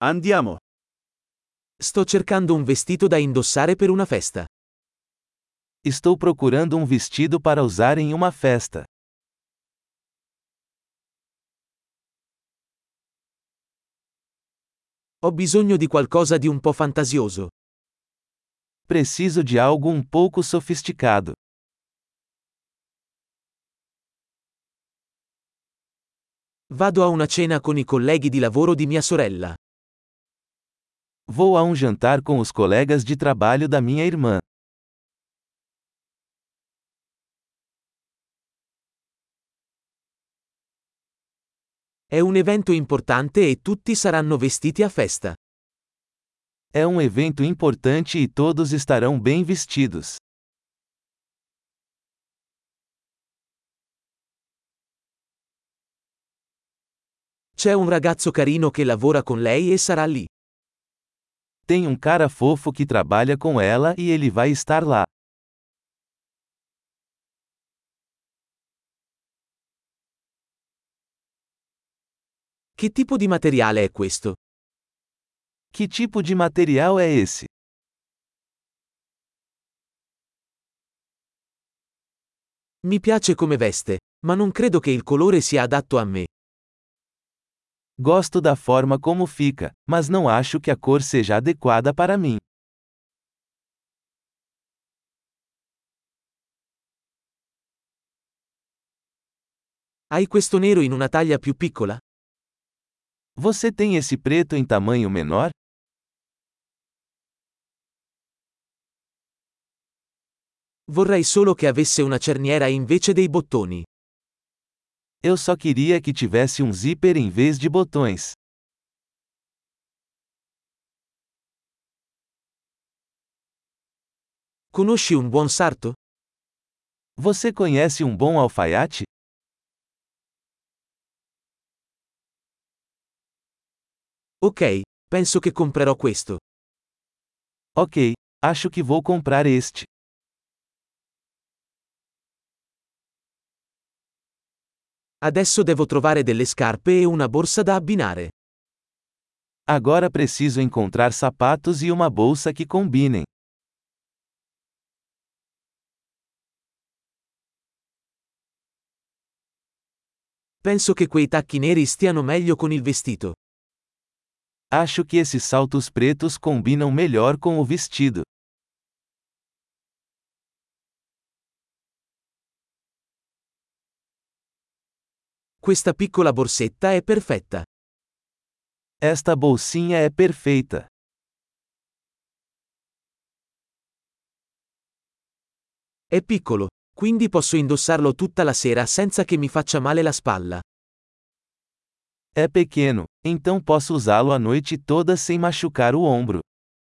Andiamo. Sto cercando un vestito da indossare per una festa. Estou procurando um vestido para usar em uma festa. Ho bisogno di qualcosa di un po' fantasioso. Preciso de algo um pouco sofisticado. Vado a una cena con i colleghi di lavoro di mia sorella. Vou a um jantar com os colegas de trabalho da minha irmã. È un evento importante e tutti saranno vestiti a festa. É um evento importante e todos estarão bem vestidos. C'è un ragazzo carino che lavora con lei e sarà lì. Tem um cara fofo que trabalha com ela e ele vai estar lá. Che tipo di materiale è questo? Que tipo de material é esse? Mi piace come veste, ma non credo che il colore sia adatto a me. Gosto da forma como fica, mas não acho que a cor seja adequada para mim. Hai questo nero in una taglia più piccola? Você tem esse preto em tamanho menor? Vorrei solo che avesse una cerniera invece dei bottoni. Eu só queria que tivesse um zíper em vez de botões. Conosci un buon sarto? Você conhece um bom alfaiate? Ok, penso che comprerò questo. Ok, acho que vou comprar este. Adesso devo trovare delle scarpe e una borsa da abbinare. Agora preciso encontrar sapatos e uma bolsa que combinem. Penso che quei tacchi neri stiano meglio con il vestito. Acho que esses saltos pretos combinam melhor com o vestido. Questa piccola borsetta è perfetta. Esta bolsinha é perfeita. È piccolo, quindi posso indossarlo tutta la sera senza che mi faccia male la spalla. É pequeno, então posso usá-lo a noite toda sem machucar o ombro.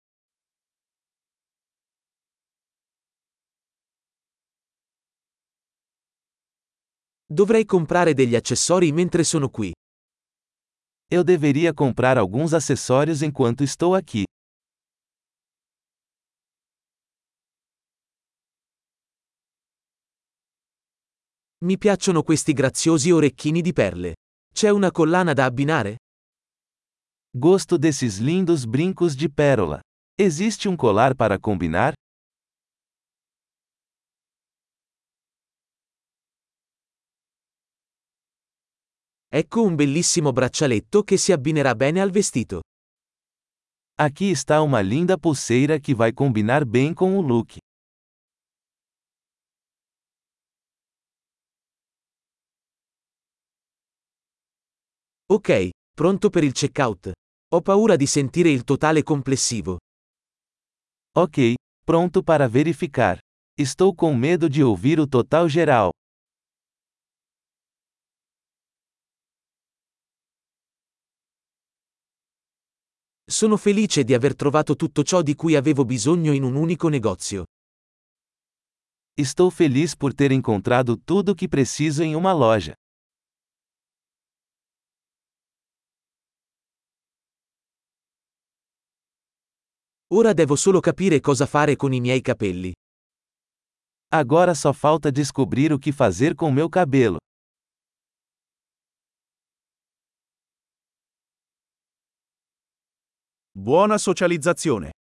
Dovrei comprare degli accessori mentre sono qui. Eu deveria comprar alguns acessórios enquanto estou aqui. Mi piacciono questi graziosi orecchini di perle. C'è una collana da abbinare? Gosto desses lindos brincos de pérola. Existe um colar para combinar? Ecco un bellissimo braccialetto che si abbinerà bene al vestito. Aqui está uma linda pulseira que vai combinar bem com o look. Ok, pronto per il checkout. Ho paura di sentire il totale complessivo. Ok, pronto para verificar. Estou com medo de ouvir o total geral. Sono felice di aver trovato tutto ciò di cui avevo bisogno in un unico negozio. Estou feliz por ter encontrado tudo o que preciso em uma loja. Ora devo solo capire cosa fare con i miei capelli. Agora só falta descobrir o que fazer com meu cabelo. Buona socializzazione.